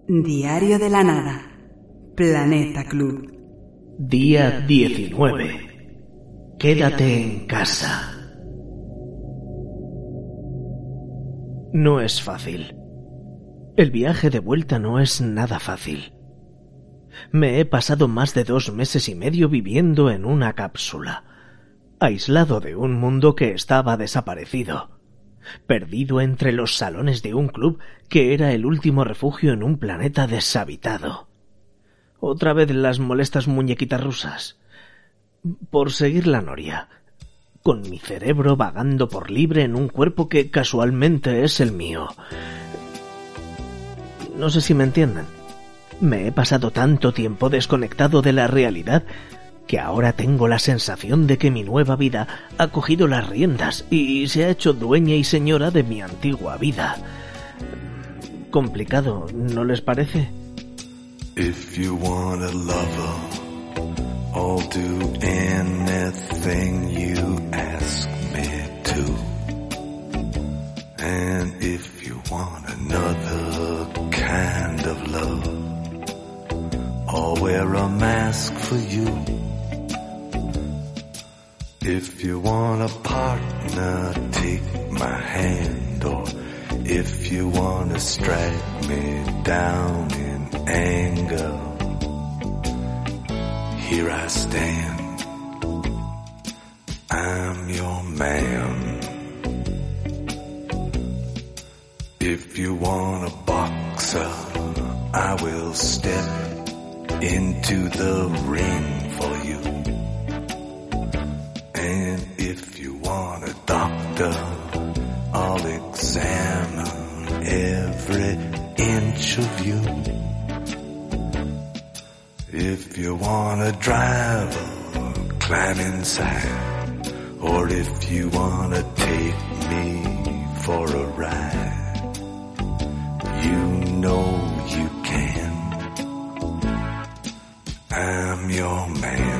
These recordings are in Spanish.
Diario de la nada. Planeta Club. Día 19. Quédate en casa. No es fácil. El viaje de vuelta no es nada fácil. Me he pasado más de 2 meses y medio viviendo en una cápsula, aislado de un mundo que estaba desaparecido, perdido entre los salones de un club que era el último refugio en un planeta deshabitado. Otra vez las molestas muñequitas rusas. Por seguir la noria, con mi cerebro vagando por libre en un cuerpo que casualmente es el mío. No sé si me entienden. Me he pasado tanto tiempo desconectado de la realidad que ahora tengo la sensación de que mi nueva vida ha cogido las riendas y se ha hecho dueña y señora de mi antigua vida. Complicado, ¿no les parece? If you want a lover, I'll do anything you ask me to. And if you want another kind of love, I'll wear a mask for you. If you want a partner, take my hand. Or if you want to strike me down in anger, here I stand. I'm your man. If you want a boxer, I will step into the ring for you. And if you want a doctor, I'll examine every inch of you. If you want a driver, climb inside. Or if you want to take me for a ride, you know you can. I'm your man.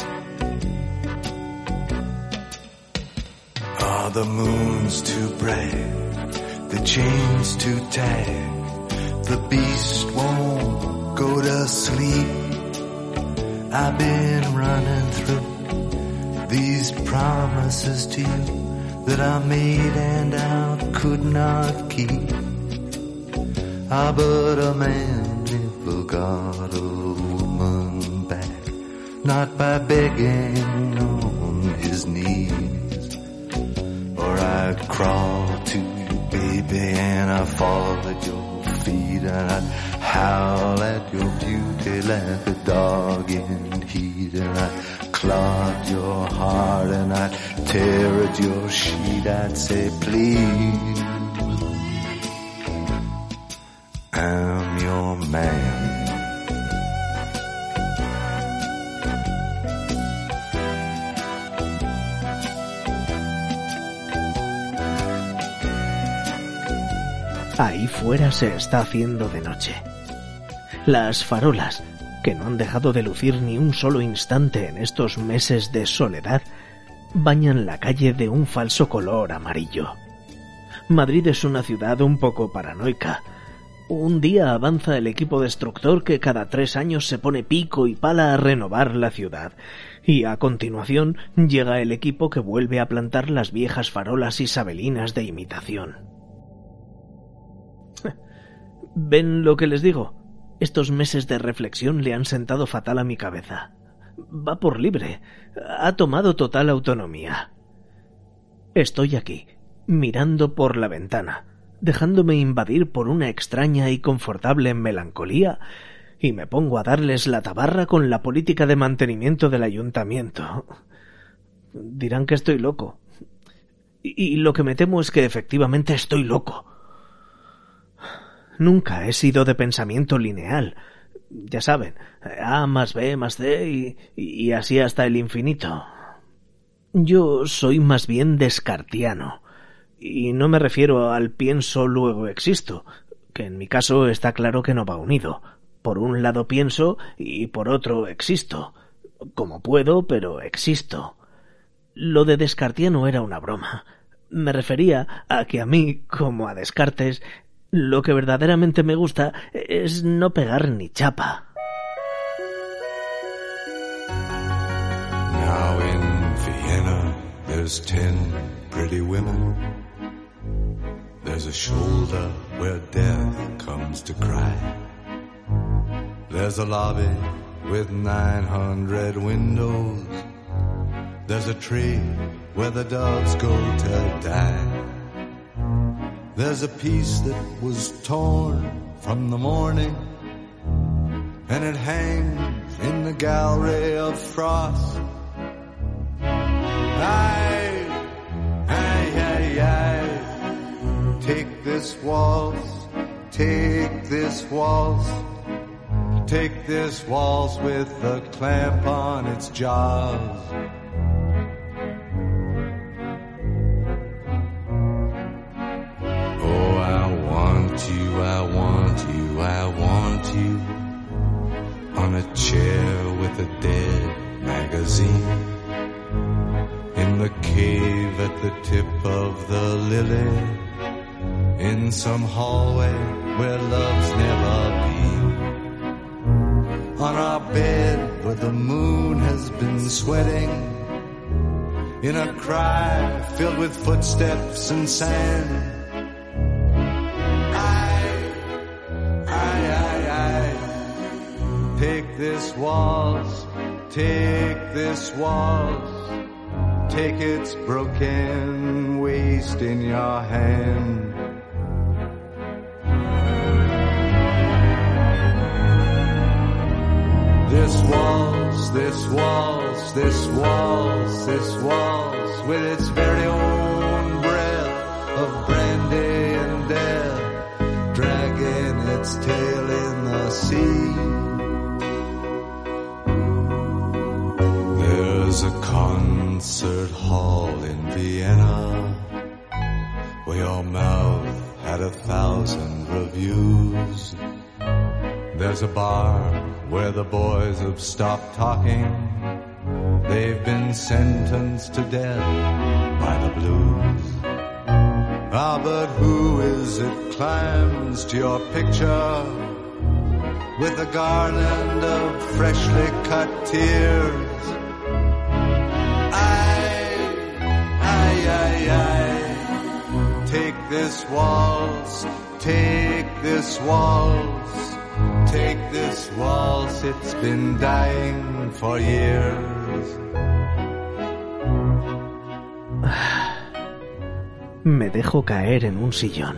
Are the moons too bright? The chains too tight? The beast won't go to sleep. I've been running through these promises to you that I made and I could not keep. Ah, but a man never got a woman back, not by begging on his knees. Or I'd crawl to you, baby, and I'd fall at your feet, and I'd howl at your beauty like a dog in heat, and I'd claw at your heart, and I'd tear at your sheet. I'd say, please, I'm your man. Ahí fuera se está haciendo de noche. Las farolas, que no han dejado de lucir ni un solo instante en estos meses de soledad, bañan la calle de un falso color amarillo. Madrid es una ciudad un poco paranoica. Un día avanza el equipo destructor que cada 3 años se pone pico y pala a renovar la ciudad, y a continuación llega el equipo que vuelve a plantar las viejas farolas isabelinas de imitación. ¿Ven lo que les digo? Estos meses de reflexión le han sentado fatal a mi cabeza. Va por libre. Ha tomado total autonomía. Estoy aquí, mirando por la ventana, dejándome invadir por una extraña y confortable melancolía, y me pongo a darles la tabarra con la política de mantenimiento del ayuntamiento. Dirán que estoy loco. Y lo que me temo es que efectivamente estoy loco. Nunca he sido de pensamiento lineal. Ya saben, A más B más C y así hasta el infinito. Yo soy más bien descartiano. Y no me refiero al pienso luego existo, que en mi caso está claro que no va unido. Por un lado pienso y por otro existo. Como puedo, pero existo. Lo de descartiano era una broma. Me refería a que a mí, como a Descartes, Lo que verdaderamente me gusta es no pegar ni chapa. Now in Vienna there's 10 pretty women. There's a shoulder where death comes to cry. There's a lobby with 900 windows. There's a tree where the doves go to die. There's a piece that was torn from the morning, and it hangs in the gallery of frost. Aye, aye, aye, aye. Take this waltz, take this waltz. Take this waltz with a clamp on its jaws. Oh, I want you, I want you, I want you on a chair with a dead magazine in the cave at the tip of the lily, in some hallway where love's never been. On our bed where the moon has been sweating, in a cry filled with footsteps and sand. I take this waltz, take this waltz, take its broken waist in your hand. This waltz, this waltz, this waltz, this waltz, with its very own breath of brandy and death, dragging its tail in the sea. There's a concert hall in Vienna where your mouth had 1,000 reviews. There's a bar where the boys have stopped talking. They've been sentenced to death by the blues. Ah, but who is it climbs to your picture with a garland of freshly cut tears? I take this waltz, take this waltz. Take this waltz, it's been dying for years. Me dejo caer en un sillón.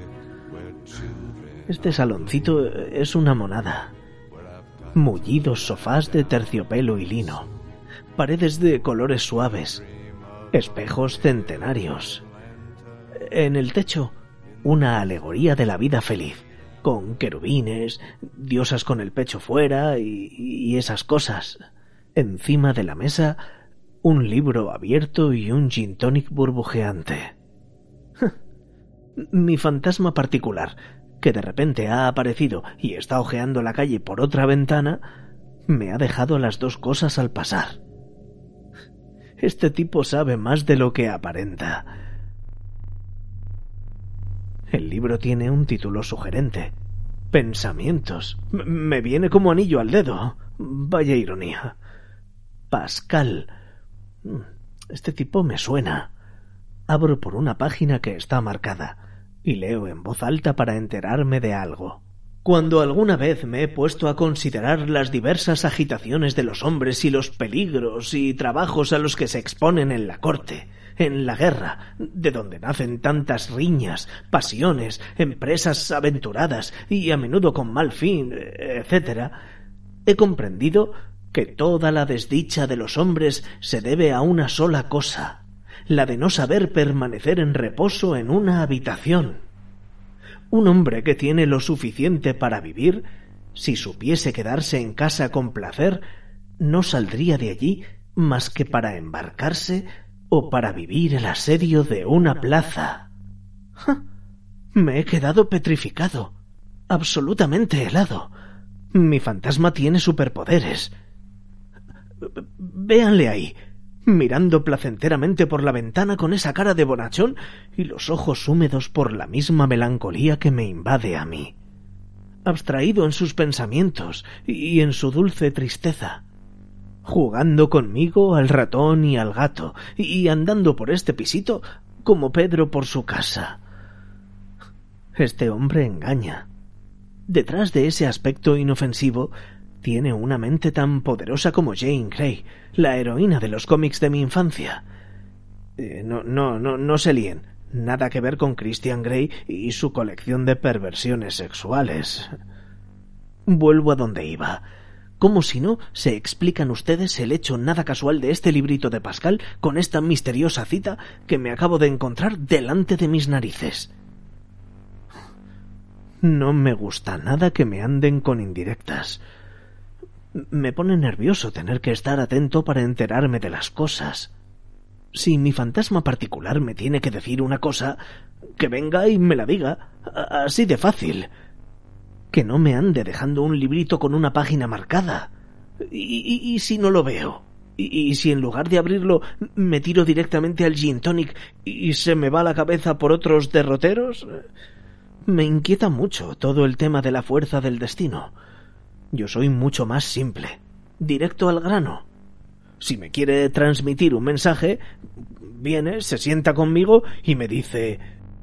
Este saloncito es una monada. Mullidos sofás de terciopelo y lino, paredes de colores suaves, espejos centenarios. En el techo, una alegoría de la vida feliz, con querubines, diosas con el pecho fuera y esas cosas. Encima de la mesa, un libro abierto y un gin tonic burbujeante. Mi fantasma particular, que de repente ha aparecido y está ojeando la calle por otra ventana, me ha dejado las dos cosas al pasar. Este tipo sabe más de lo que aparenta. El libro tiene un título sugerente. Pensamientos. Me viene como anillo al dedo. Vaya ironía. Pascal. Este tipo me suena. Abro por una página que está marcada y leo en voz alta para enterarme de algo. Cuando alguna vez me he puesto a considerar las diversas agitaciones de los hombres y los peligros y trabajos a los que se exponen en la corte, en la guerra, de donde nacen tantas riñas, pasiones, empresas aventuradas y a menudo con mal fin, etc., he comprendido que toda la desdicha de los hombres se debe a una sola cosa, la de no saber permanecer en reposo en una habitación. Un hombre que tiene lo suficiente para vivir, si supiese quedarse en casa con placer, no saldría de allí más que para embarcarse o para vivir el asedio de una plaza. ¡Ja! Me he quedado petrificado, absolutamente helado. Mi fantasma tiene superpoderes. Véanle ahí. mirando placenteramente por la ventana con esa cara de bonachón y los ojos húmedos por la misma melancolía que me invade a mí. Abstraído en sus pensamientos y en su dulce tristeza, jugando conmigo al ratón y al gato y andando por este pisito como Pedro por su casa. Este hombre engaña. Detrás de ese aspecto inofensivo tiene una mente tan poderosa como Jane Grey, la heroína de los cómics de mi infancia. No se líen. Nada que ver con Christian Grey y su colección de perversiones sexuales. Vuelvo a donde iba. ¿Cómo si no se explican ustedes el hecho nada casual de este librito de Pascal con esta misteriosa cita que me acabo de encontrar delante de mis narices? No me gusta nada que me anden con indirectas. Me pone nervioso tener que estar atento para enterarme de las cosas. Si mi fantasma particular me tiene que decir una cosa, que venga y me la diga, así de fácil. Que no me ande dejando un librito con una página marcada. ¿Y si no lo veo? ¿Y si en lugar de abrirlo me tiro directamente al gin tonic y se me va la cabeza por otros derroteros? Me inquieta mucho todo el tema de la fuerza del destino. Yo soy mucho más simple, directo al grano. Si me quiere transmitir un mensaje, viene, se sienta conmigo y me dice: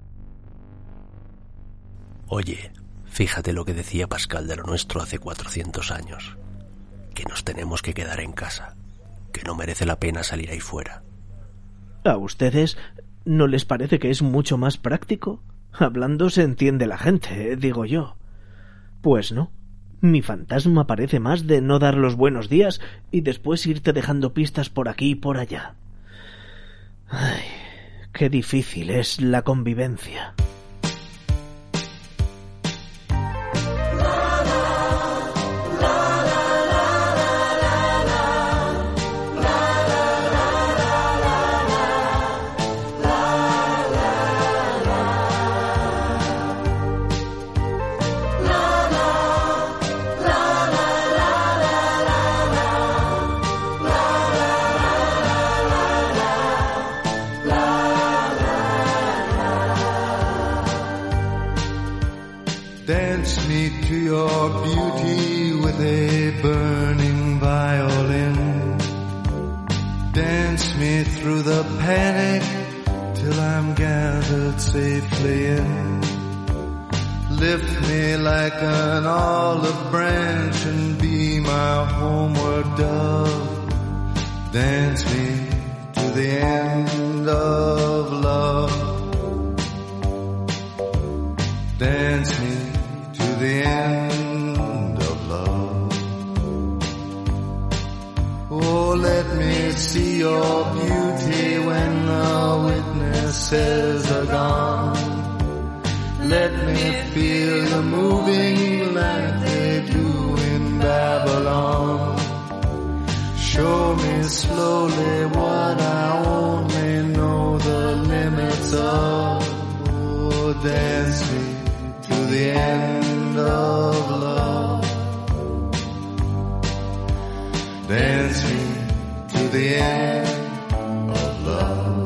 Oye, fíjate lo que decía Pascal de lo nuestro hace 400 años. Que nos tenemos que quedar en casa, que no merece la pena salir ahí fuera. ¿A ustedes no les parece que es mucho más práctico? Hablando se entiende la gente, digo yo. Pues no. Mi fantasma parece más de no dar los buenos días y después irte dejando pistas por aquí y por allá. Ay, qué difícil es la convivencia. Dance me to your beauty with a burning violin. Dance me through the panic till I'm gathered safely in. Lift me like an olive branch and be my homeward dove. Dance me to the end of love. Dance me to the end of love. Oh, let me see your beauty when the witnesses are gone. Let me feel you moving like they do in Babylon. Show me slowly what I only know the limits of. Oh, dance me to the end of love. Dance me to the end of love.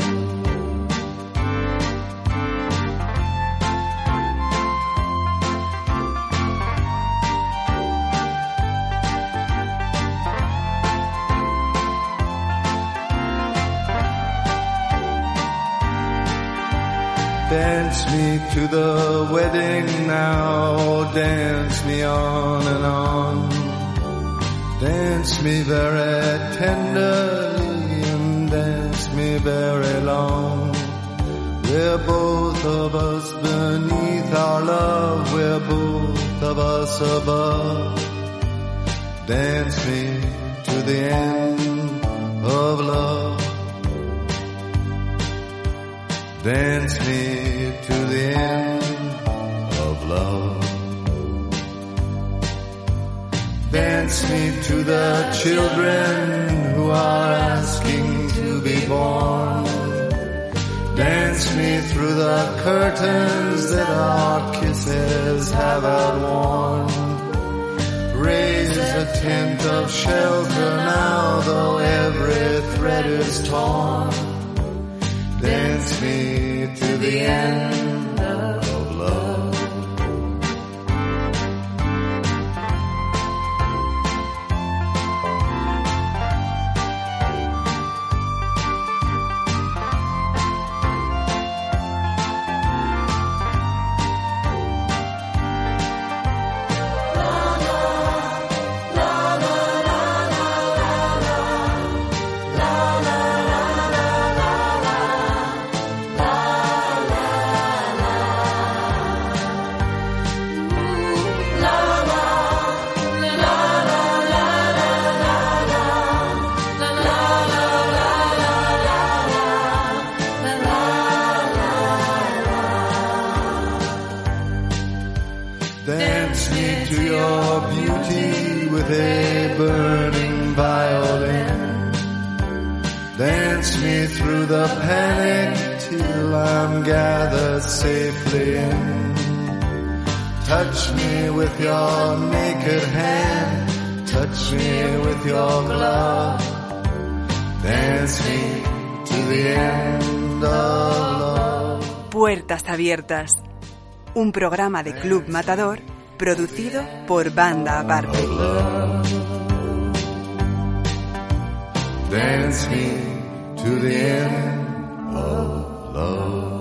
Dance me to the wedding now, dance me on and on. Dance me very tenderly and dance me very long. We're both of us beneath our love, we're both of us above. Dance me to the end of love. Dance me to the end of love. Dance me to the children who are asking to be born. Dance me through the curtains that our kisses have outworn. Raise a tent of shelter now, though every thread letters torn. Dance me to the end of love. Dance me to your beauty with a burning violin. Dance me through the panic till I'm gathered safely in. Touch me with your naked hand. Touch me with your glove. Dance me to the end of love. Puertas Abiertas. Un programa de Club Matador producido por Banda Aparte. Dance me to the end of love.